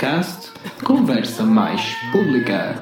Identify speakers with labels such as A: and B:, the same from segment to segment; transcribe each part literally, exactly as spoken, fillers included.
A: podcast Conversa Mais Pública.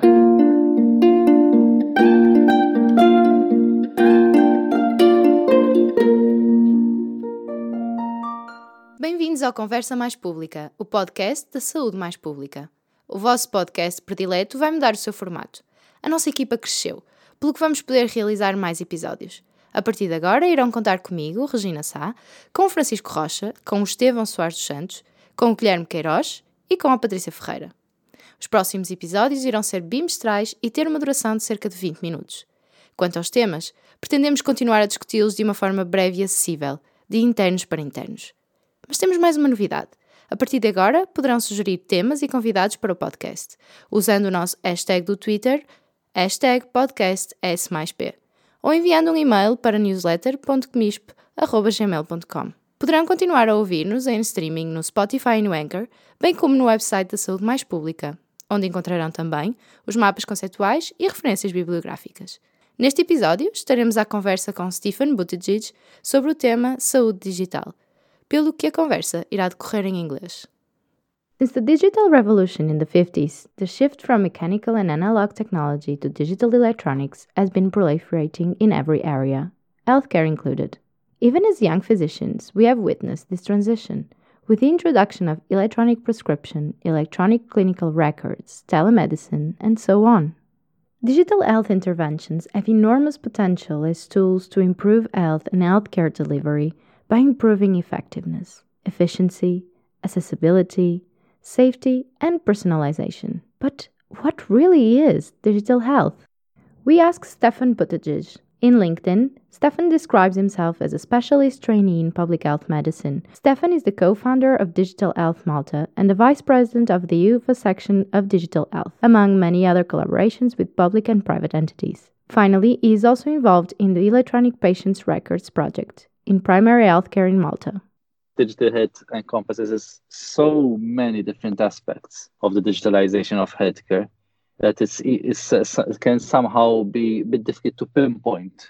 B: Bem-vindos ao Conversa Mais Pública, o podcast da saúde mais pública. O vosso podcast predileto vai mudar o seu formato. A nossa equipa cresceu, pelo que vamos poder realizar mais episódios. A partir de agora irão contar comigo, Regina Sá, com o Francisco Rocha, com o Estevão Soares dos Santos, com o Guilherme Queiroz e com a Patrícia Ferreira. Os próximos episódios irão ser bimestrais e ter uma duração de cerca de vinte minutos. Quanto aos temas, pretendemos continuar a discuti-los de uma forma breve e acessível, de internos para internos. Mas temos mais uma novidade. A partir de agora, poderão sugerir temas e convidados para o podcast, usando o nosso hashtag do Twitter, hashtag podcast S mais P, ou enviando um e-mail para newsletter ponto comisp arroba gmail ponto com. Poderão continuar a ouvir-nos em streaming no Spotify e no Anchor, bem como no website da Saúde Mais Pública, onde encontrarão também os mapas conceituais e referências bibliográficas. Neste episódio, estaremos à conversa com Stephen Buttigieg sobre o tema saúde digital, pelo que a conversa irá decorrer em inglês. Since the digital revolution in the fifties, the shift from mechanical and analog technology to digital electronics has been proliferating in every area, healthcare included. Even as young physicians, we have witnessed this transition, with the introduction of electronic prescription, electronic clinical records, telemedicine, and so on. Digital health interventions have enormous potential as tools to improve health and healthcare delivery by improving effectiveness, efficiency, accessibility, safety, and personalization. But what really is digital health? We asked Stephen Buttigieg. In LinkedIn, Stephen describes himself as a specialist trainee in public health medicine. Stephen is the co-founder of Digital Health Malta and the vice president of the U F A section of Digital Health, among many other collaborations with public and private entities. Finally, he is also involved in the Electronic Patients Records project in primary healthcare in Malta.
C: Digital health encompasses so many different aspects of the digitalization of healthcare that it's, it's, uh, it can somehow be a bit difficult to pinpoint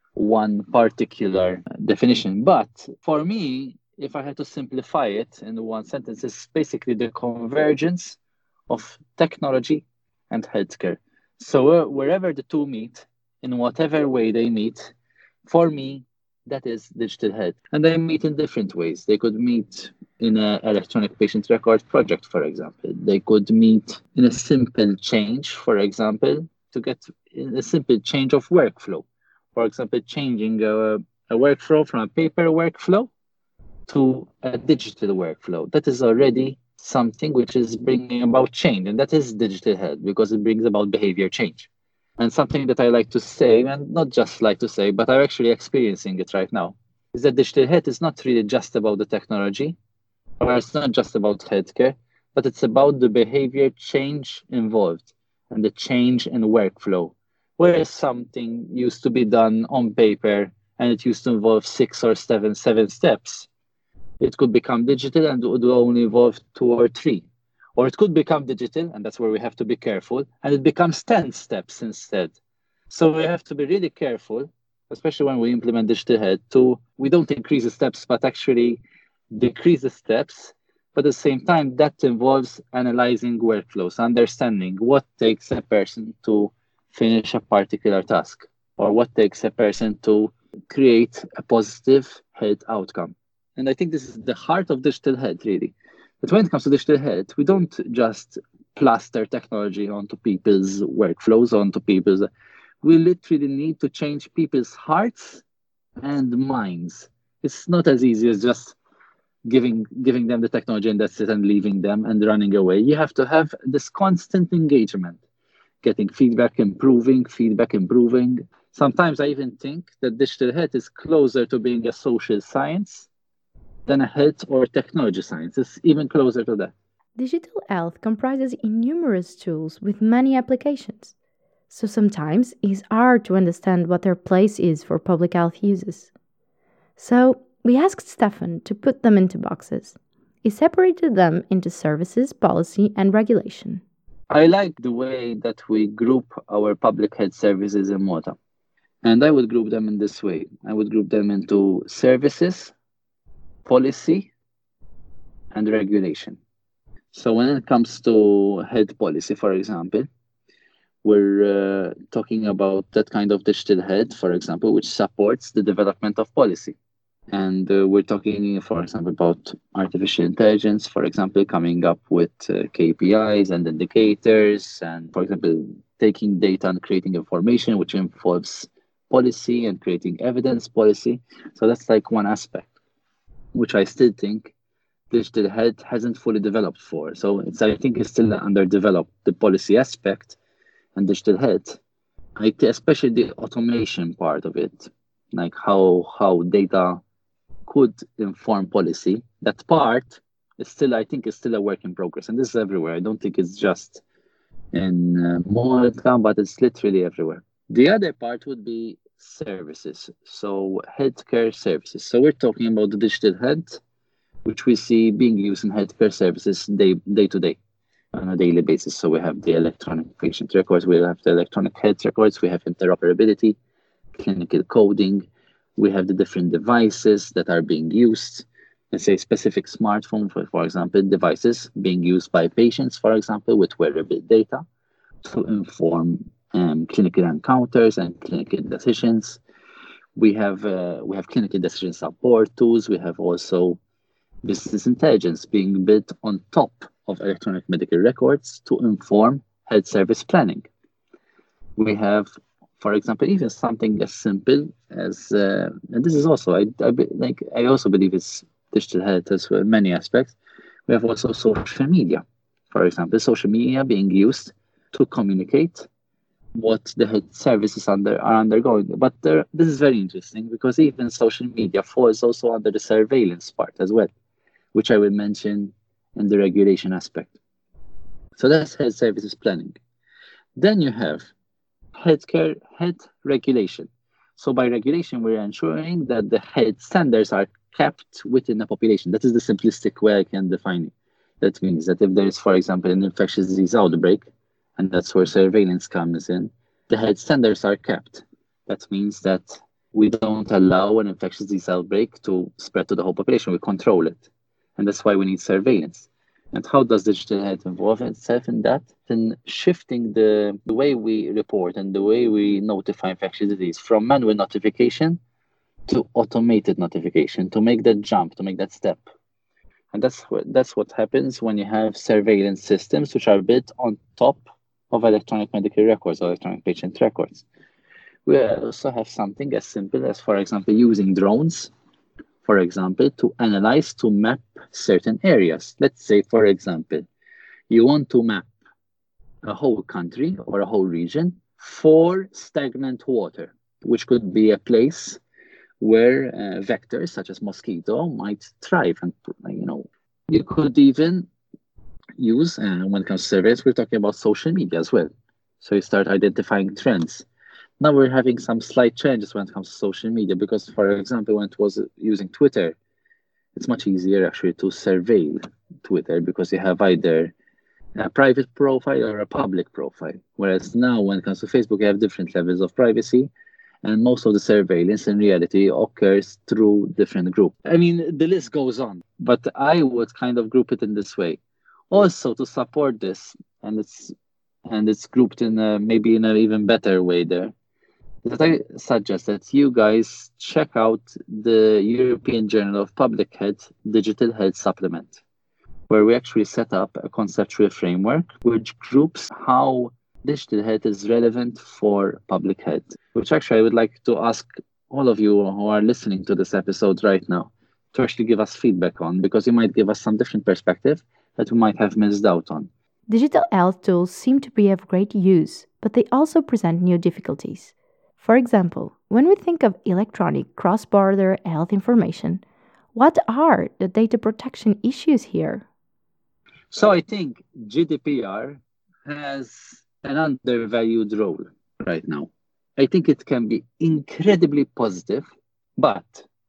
C: one particular definition. But for me, if I had to simplify it in one sentence, it's basically the convergence of technology and healthcare. So uh, wherever the two meet, in whatever way they meet, for me, that is digital health. And they meet in different ways. They could meet in an electronic patient record project, for example. They could meet in a simple change, for example, to get a simple change of workflow. For example, changing a, a workflow from a paper workflow to a digital workflow. That is already something which is bringing about change. And that is digital health because it brings about behavior change. And something that I like to say, and not just like to say, but I'm actually experiencing it right now, is that digital health is not really just about the technology, or it's not just about healthcare, but it's about the behavior change involved and the change in workflow. Where something used to be done on paper and it used to involve six or seven, seven steps, it could become digital and it would only involve two or three. Or it could become digital, and that's where we have to be careful, and it becomes ten steps instead. So we have to be really careful, especially when we implement digital health, to we don't increase the steps, but actually decrease the steps. But at the same time, that involves analyzing workflows, understanding what takes a person to finish a particular task, or what takes a person to create a positive health outcome. And I think this is the heart of digital health, really. But when it comes to digital health, we don't just plaster technology onto people's workflows, onto people's... We literally need to change people's hearts and minds. It's not as easy as just giving giving them the technology and that's it and leaving them and running away. You have to have this constant engagement, getting feedback, improving, feedback, improving. Sometimes I even think that digital health is closer to being a social science than a health or technology science. It's even closer to that.
B: Digital health comprises numerous tools with many applications, so sometimes it's hard to understand what their place is for public health uses. So we asked Stephen to put them into boxes. He separated them into services, policy, and regulation.
C: I like the way that we group our public health services in Malta. And I would group them in this way. I would group them into services, policy, and regulation. So when it comes to health policy, for example, we're uh, talking about that kind of digital head, for example, which supports the development of policy. And uh, we're talking, for example, about artificial intelligence, for example, coming up with uh, K P Is and indicators, and, for example, taking data and creating information, which involves policy and creating evidence policy. So that's like one aspect, which I still think digital health hasn't fully developed for. So it's, I think it's still underdeveloped, the policy aspect and digital health, I th- especially the automation part of it, like how how data could inform policy. That part is still, I think, is still a work in progress, and this is everywhere. I don't think it's just in uh, Malta, but it's literally everywhere. The other part would be services, so healthcare services. So we're talking about the digital health, which we see being used in healthcare services day day to day, on a daily basis. So we have the electronic patient records, we have the electronic health records, we have interoperability, clinical coding, we have the different devices that are being used. Let's say specific smartphone, for, for example, devices being used by patients, for example, with wearable data to inform um, clinical encounters and clinical decisions. We have uh, we have clinical decision support tools. We have also business intelligence being built on top of electronic medical records to inform health service planning. We have, for example, even something as simple as, uh, and this is also, I, I like, I also believe it's digital health as well, many aspects. We have also social media, for example, social media being used to communicate what the health services under are undergoing. But there, this is very interesting because even social media falls also under the surveillance part as well, which I will mention in the regulation aspect. So that's health services planning. Then you have healthcare health regulation. So by regulation, we're ensuring that the health standards are kept within the population. That is the simplistic way I can define it. That means that if there is, for example, an infectious disease outbreak, and that's where surveillance comes in, the health standards are kept. That means that we don't allow an infectious disease outbreak to spread to the whole population. We control it. And that's why we need surveillance. And how does digital health involve itself in that? In shifting the, the way we report and the way we notify infectious disease from manual notification to automated notification, to make that jump, to make that step. And that's what, that's what happens when you have surveillance systems which are built on top of electronic medical records or electronic patient records. We also have something as simple as, for example, using drones, for example, to analyze, to map certain areas. Let's say, for example, you want to map a whole country or a whole region for stagnant water, which could be a place where uh, vectors such as mosquito might thrive. And, you know, you could even use, and uh, when it comes to surveys, we're talking about social media as well. So you start identifying trends. Now we're having some slight changes when it comes to social media because, for example, when it was using Twitter, it's much easier actually to surveil Twitter because you have either a private profile or a public profile. Whereas now when it comes to Facebook, you have different levels of privacy, and most of the surveillance in reality occurs through different groups. I mean, the list goes on, but I would kind of group it in this way. Also, to support this, and it's and it's grouped in a, maybe in an even better way there, that I suggest that you guys check out the European Journal of Public Health Digital Health Supplement, where we actually set up a conceptual framework which groups how digital health is relevant for public health, which actually I would like to ask all of you who are listening to this episode right now to actually give us feedback on, because you might give us some different perspective that we might have missed out on.
B: Digital health tools seem to be of great use, but they also present new difficulties. For example, when we think of electronic cross-border health information, what are the data protection issues here?
C: So I think G D P R has an undervalued role right now. I think it can be incredibly positive, but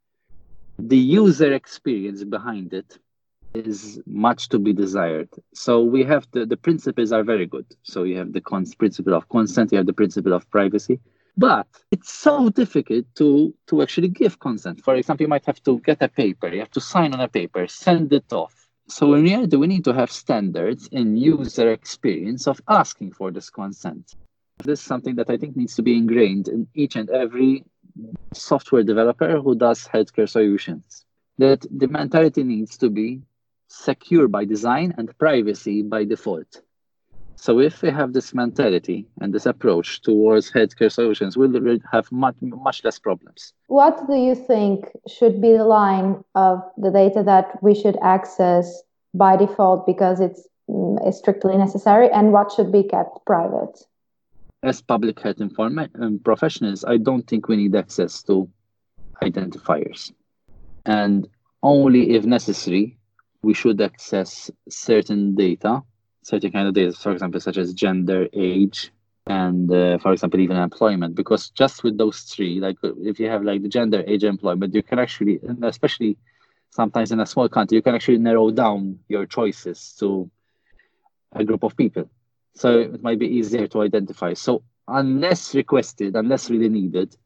C: the user experience behind it is much to be desired. So we have the, the principles are very good. So you have the cons- principle of consent, you have the principle of privacy, but it's so difficult to, to actually give consent. For example, you might have to get a paper, you have to sign on a paper, send it off. So in reality, we need to have standards in user experience of asking for this consent. This is something that I think needs to be ingrained in each and every software developer who does healthcare solutions. That the mentality needs to be secure by design and privacy by default. So if we have this mentality and this approach towards healthcare solutions, we'll have much, much less problems.
D: What do you think should be the line of the data that we should access by default because it's mm, strictly necessary, and what should be kept private?
C: As public health informa- um, professionals, I don't think we need access to identifiers. And only if necessary, we should access certain data, certain kind of data, for example, such as gender, age, and uh, for example, even employment. Because just with those three, like if you have like the gender, age, employment, you can actually, and especially sometimes in a small country, you can actually narrow down your choices to a group of people. So it might be easier to identify. So unless requested, unless really needed,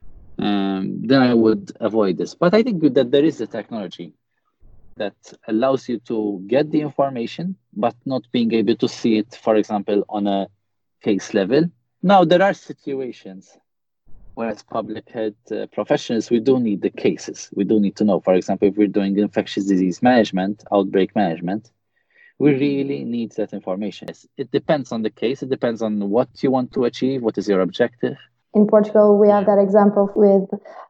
C: um, then I would avoid this. But I think that there is a technology that allows you to get the information, but not being able to see it, for example, on a case level. Now, there are situations where as public health uh, professionals, we do need the cases. We do need to know, for example, if we're doing infectious disease management, outbreak management, we really need that information. It depends on the case. It depends on what you want to achieve. What is your objective?
D: In Portugal, we have that example with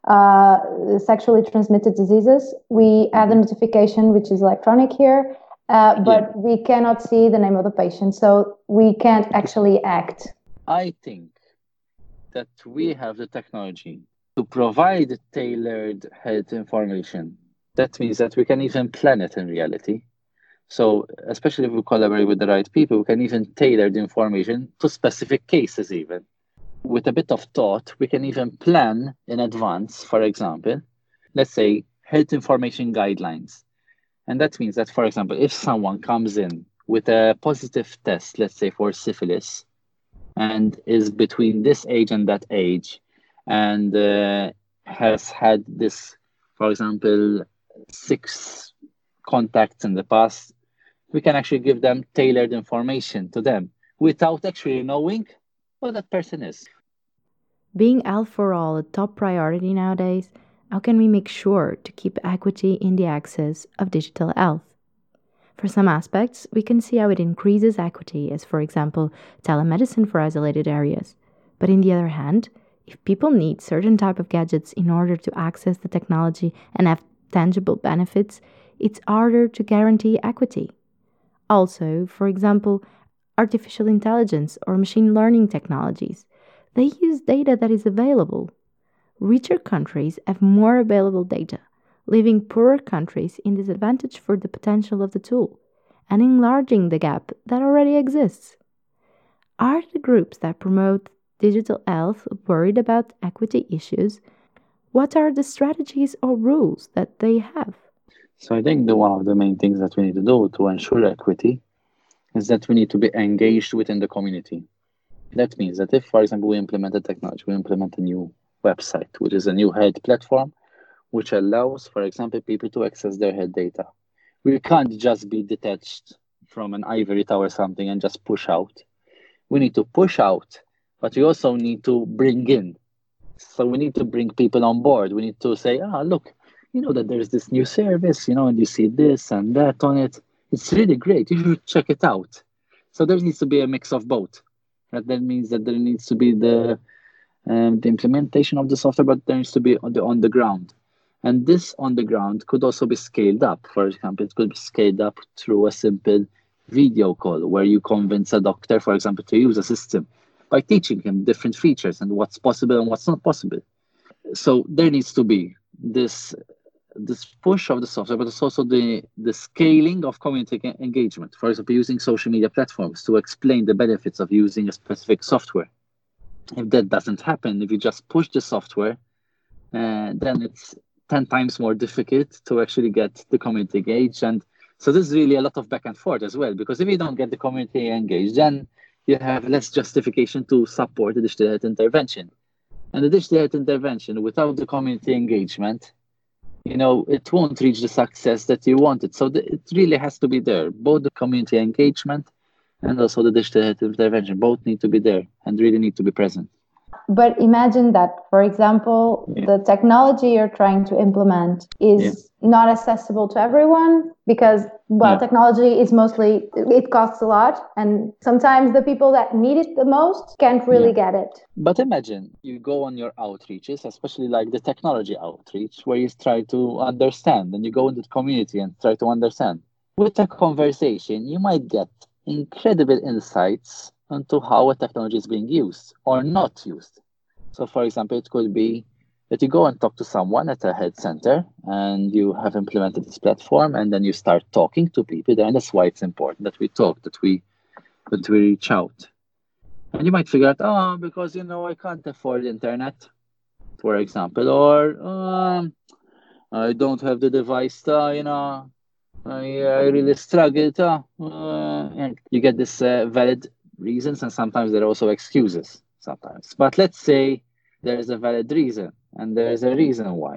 D: uh, sexually transmitted diseases. We have the notification, which is electronic here, uh, but yeah. we cannot see the name of the patient, so we can't actually act.
C: I think that we have the technology to provide tailored health information. That means that we can even plan it in reality. So especially if we collaborate with the right people, we can even tailor the information to specific cases even. With a bit of thought, we can even plan in advance, for example, let's say health information guidelines. And that means that, for example, if someone comes in with a positive test, let's say for syphilis, and is between this age and that age, and uh, has had this, for example, six contacts in the past, we can actually give them tailored information to them without actually knowing what that person is.
B: Being health for all a top priority nowadays, how can we make sure to keep equity in the access of digital health? For some aspects, we can see how it increases equity, as for example, telemedicine for isolated areas. But on the other hand, if people need certain type of gadgets in order to access the technology and have tangible benefits, it's harder to guarantee equity. Also, for example, artificial intelligence or machine learning technologies, they use data that is available. Richer countries have more available data, leaving poorer countries in disadvantage for the potential of the tool, and enlarging the gap that already exists. Are the groups that promote digital health worried about equity issues? What are the strategies or rules that they have?
C: So I think the one of the main things that we need to do to ensure equity is that we need to be engaged within the community. That means that if, for example, we implement a technology, we implement a new website, which is a new health platform, which allows, for example, people to access their health data. We can't just be detached from an ivory tower or something and just push out. We need to push out, but we also need to bring in. So we need to bring people on board. We need to say, ah, look, you know that there's this new service, you know, and you see this and that on it. It's really great. You should check it out. So there needs to be a mix of both. That, that means that there needs to be the um, the implementation of the software, but there needs to be on the on the ground. And this on the ground could also be scaled up. For example, it could be scaled up through a simple video call where you convince a doctor, for example, to use a system by teaching him different features and what's possible and what's not possible. So there needs to be this this push of the software, but it's also the, the scaling of community engagement. For example, using social media platforms to explain the benefits of using a specific software. If that doesn't happen, if you just push the software, uh, then it's ten times more difficult to actually get the community engaged. And so there's really a lot of back and forth as well, because if you don't get the community engaged, then you have less justification to support the digital health intervention. And the digital health intervention without the community engagement you know, it won't reach the success that you wanted. So the, it really has to be there. Both the community engagement and also the digital health intervention both need to be there and really need to be present.
D: But imagine that, for example,
C: Yeah.
D: the technology you're trying to implement is
C: Yeah.
D: not accessible to everyone because, well,
C: Yeah.
D: technology is mostly, it costs a lot. And sometimes the people that need it the most can't really
C: Yeah.
D: get it.
C: But imagine you go on your outreaches, especially like the technology outreach, where you try to understand and you go into the community and try to understand. With a conversation, you might get incredible insights into how a technology is being used or not used. So, for example, it could be that you go and talk to someone at a health center and you have implemented this platform, and then you start talking to people there. And that's why it's important that we talk, that we that we reach out. And you might figure out, oh, because you know I can't afford internet, for example, or um, I don't have the device, uh, you know, I, I really struggled. Uh, uh, and you get this uh, valid reasons, and sometimes there are also excuses. Sometimes, but let's say there is a valid reason, and there is a reason why,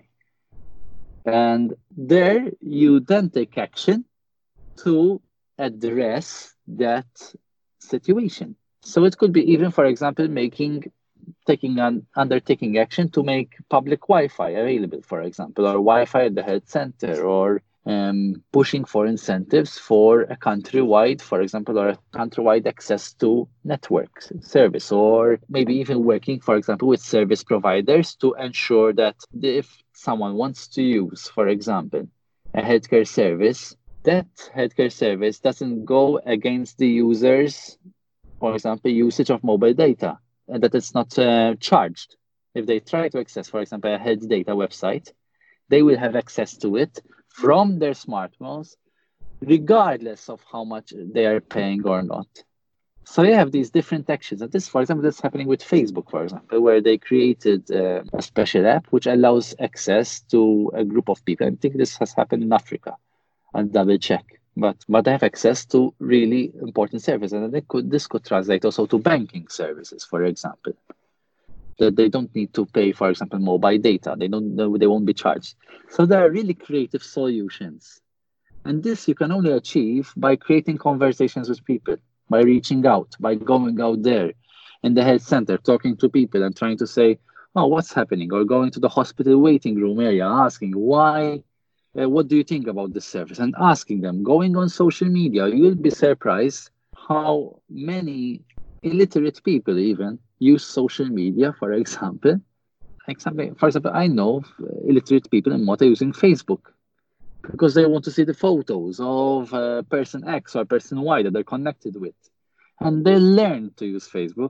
C: and there you then take action to address that situation. So it could be even, for example, making taking an undertaking action to make public Wi-Fi available, for example, or Wi-Fi at the health center, or um, pushing for incentives for a countrywide, for example, or a countrywide access to network service, or maybe even working, for example, with service providers to ensure that if someone wants to use, for example, a healthcare service, that healthcare service doesn't go against the user's, for example, usage of mobile data, and that it's not uh, charged. If they try to access, for example, a health data website, they will have access to it from their smartphones, regardless of how much they are paying or not. So you have these different actions. And this, for example, that's happening with Facebook, for example, where they created uh, a special app which allows access to a group of people. I think this has happened in Africa. I'll double check. But but they have access to really important services, and they could this could translate also to banking services, for example. That they don't need to pay, for example, mobile data. They don't they won't be charged. So there are really creative solutions, and this you can only achieve by creating conversations with people, by reaching out, by going out there in the health center, talking to people, and trying to say, "Oh, what's happening?" Or going to the hospital waiting room area, asking why. Uh, what do you think about this service? And asking them, going on social media, you will be surprised how many illiterate people even use social media, for example. example for example, I know illiterate people in Malta using Facebook because they want to see the photos of uh, person X or person Y that they're connected with. And they learn to use Facebook.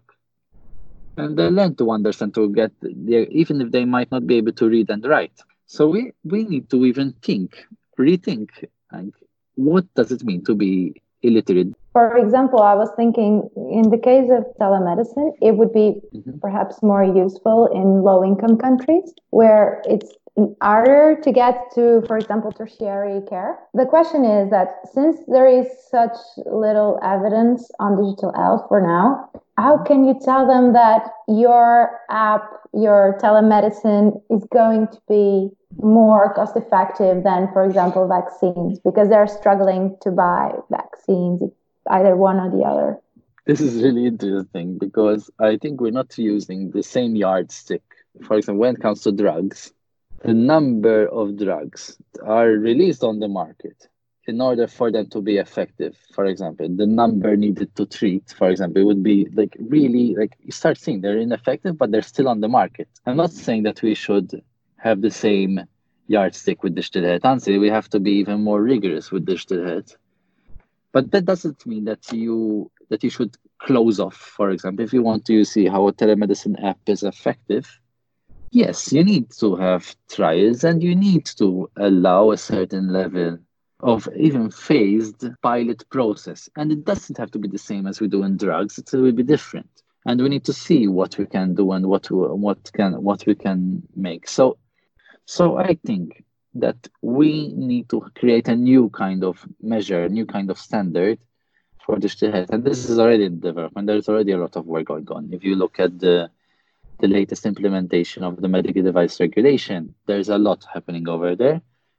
C: And they learn to understand, to get, the, even if they might not be able to read and write. So we, we need to even think, rethink, like, what does it mean to be illiterate?
D: For example, I was thinking in the case of telemedicine, it would be mm-hmm. perhaps more useful in low-income countries where it's harder to get to, for example, tertiary care. The question is that since there is such little evidence on digital health for now, how can you tell them that your app, your telemedicine is going to be more cost effective than, for example, vaccines, because they're struggling to buy vaccines, either one or the other?
C: This is really interesting because I think we're not using the same yardstick. For example, when it comes to drugs, the number of drugs are released on the market in order for them to be effective. For example, the number needed to treat, for example, it would be like really, like you start seeing they're ineffective, but they're still on the market. I'm not saying that we should have the same yardstick with digital health. Honestly, we have to be even more rigorous with digital health. But that doesn't mean that you that you should close off. For example, if you want to see how a telemedicine app is effective, yes, you need to have trials and you need to allow a certain level of even phased pilot process. And it doesn't have to be the same as we do in drugs. It will be different. And we need to see what we can do and what what can what we can make. So so I think that we need to create a new kind of measure, a new kind of standard for digital health. And this is already in development. There's already a lot of work going on. If you look at the the latest implementation of the medical device regulation, there's a lot happening over there.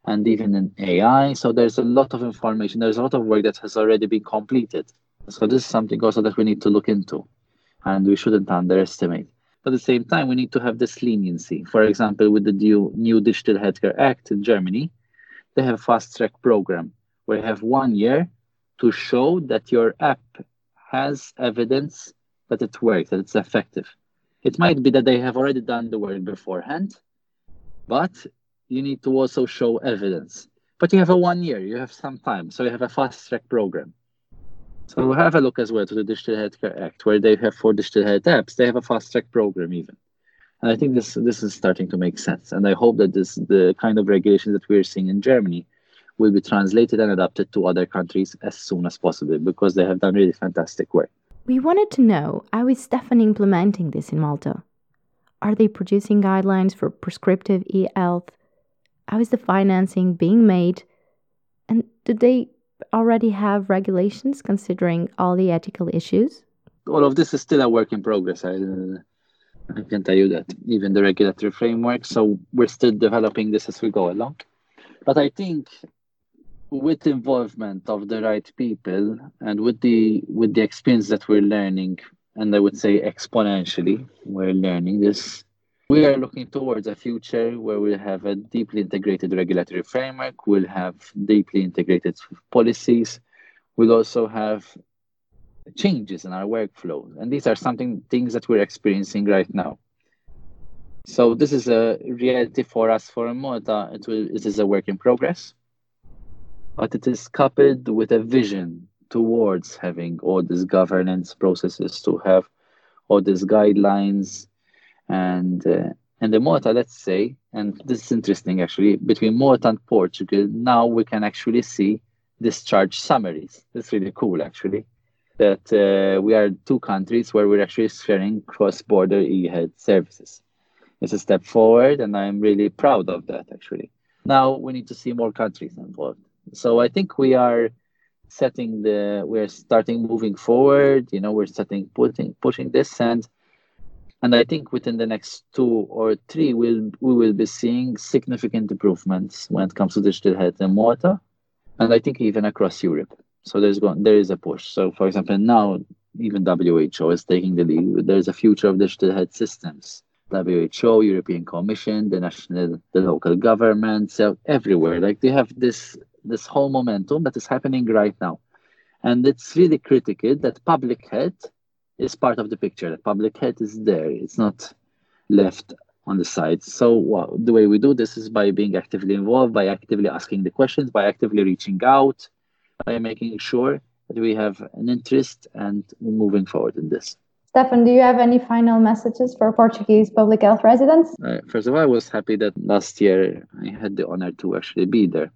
C: and even in A I. So there's a lot of information. There's a lot of work that has already been completed. So this is something also that we need to look into, and we shouldn't underestimate. But at the same time, we need to have this leniency. For example, with the new, new Digital Healthcare Act in Germany, they have a fast-track program where you have one year to show that your app has evidence that it works, that it's effective. It might be that they have already done the work beforehand, but you need to also show evidence. But you have a one year, you have some time, so you have a fast-track program. So have a look as well to the Digital Healthcare Act, where they have for digital health apps, they have a fast-track program even. And I think this this is starting to make sense. And I hope that this the kind of regulations that we're seeing in Germany will be translated and adapted to other countries as soon as possible, because they have done really fantastic work.
B: We wanted to know, how is Stefan implementing this in Malta? Are they producing guidelines for prescriptive e-health? How is the financing being made? And do they already have regulations considering all the ethical issues?
C: All of this is still a work in progress. I, uh, I can tell you that, even the regulatory framework. So we're still developing this as we go along. But I think with involvement of the right people and with the with the experience that we're learning, and I would say exponentially, we're learning this, we are looking towards a future where we'll have a deeply integrated regulatory framework, we'll have deeply integrated policies, we'll also have changes in our workflow. And these are something things that we're experiencing right now. So this is a reality for us for Malta. It will it is a work in progress, but it is coupled with a vision towards having all these governance processes, to have all these guidelines. And uh, and the Malta, let's say, and this is interesting actually, between Malta and Portugal, now we can actually see discharge summaries. That's really cool actually, that uh, we are two countries where we're actually sharing cross-border e-health services. It's a step forward, and I'm really proud of that actually. Now we need to see more countries involved. So I think we are setting the, we're starting moving forward, you know, we're starting putting, pushing this, and and I think within the next two or three, we'll, we will be seeing significant improvements when it comes to digital health in Malta, and I think even across Europe. So there's going, there is a push. So for example, now even W H O is taking the lead. There's a future of digital health systems. W H O, European Commission, the national, the local governments, so everywhere. Like they have this this whole momentum that is happening right now. And it's really critical that public health is part of the picture, that public health is there. It's not left on the side. So well, the way we do this is by being actively involved, by actively asking the questions, by actively reaching out, by making sure that we have an interest and moving forward in this.
D: Stefan, do you have any final messages for Portuguese public health residents?
C: Uh, first of all, I was happy that last year I had the honor to actually be there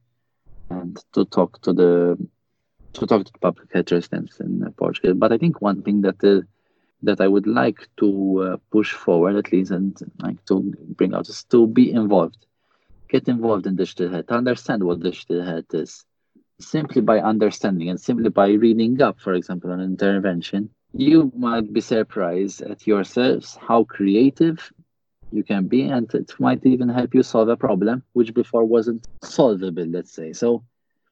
C: and to talk to the to talk to the public health residents in uh, Portugal. But I think one thing that uh, that I would like to uh, push forward at least, and like to bring out, is to be involved, get involved in digital health, understand what digital health is. Simply by understanding and simply by reading up, for example, on intervention, you might be surprised at yourselves how creative you can be, and it might even help you solve a problem which before wasn't solvable, let's say. So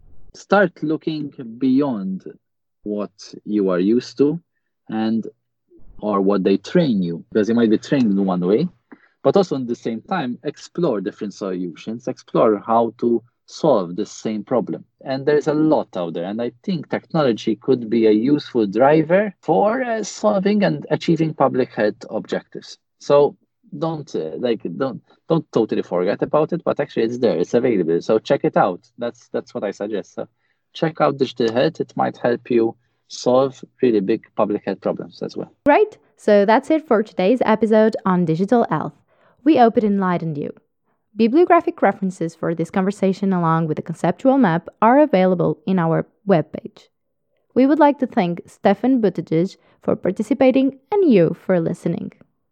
C: start looking beyond what you are used to and or what they train you, because you might be trained in one way, but also at the same time explore different solutions, explore how to solve the same problem. And there's a lot out there, and I think technology could be a useful driver for uh, solving and achieving public health objectives. So don't uh, like don't don't totally forget about it, but actually it's there, it's available. So check it out. That's that's what I suggest. So check out digital health. It might help you solve really big public health problems as well.
B: Right. So that's it for today's episode on digital health. We hope it enlightened you. Bibliographic references for this conversation along with a conceptual map are available in our webpage. We would like to thank Stefan Buttigieg for participating and you for listening.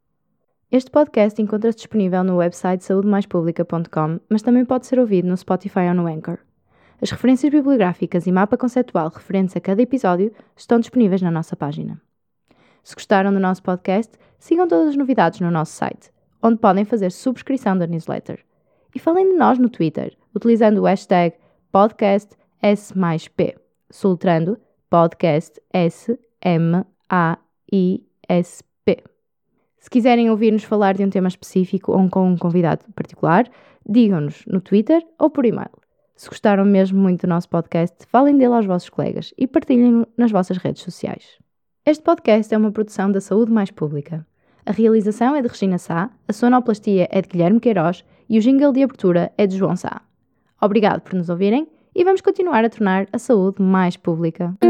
B: Este podcast encontra-se disponível no website saúde mais publica ponto com, mas também pode ser ouvido no Spotify ou no Anchor. As referências bibliográficas e mapa conceptual referentes a cada episódio estão disponíveis na nossa página. Se gostaram do nosso podcast, sigam todas as novidades no nosso site, onde podem fazer subscrição da newsletter. E falem de nós no Twitter, utilizando o hashtag podcast S mais P, soletrando podcast S M A I S P. Se quiserem ouvir-nos falar de um tema específico ou com um convidado particular, digam-nos no Twitter ou por e-mail. Se gostaram mesmo muito do nosso podcast, falem dele aos vossos colegas e partilhem-no nas vossas redes sociais. Este podcast é uma produção da Saúde Mais Pública. A realização é de Regina Sá, a sonoplastia é de Guilherme Queiroz e o jingle de abertura é de João Sá. Obrigado por nos ouvirem e vamos continuar a tornar a saúde mais pública.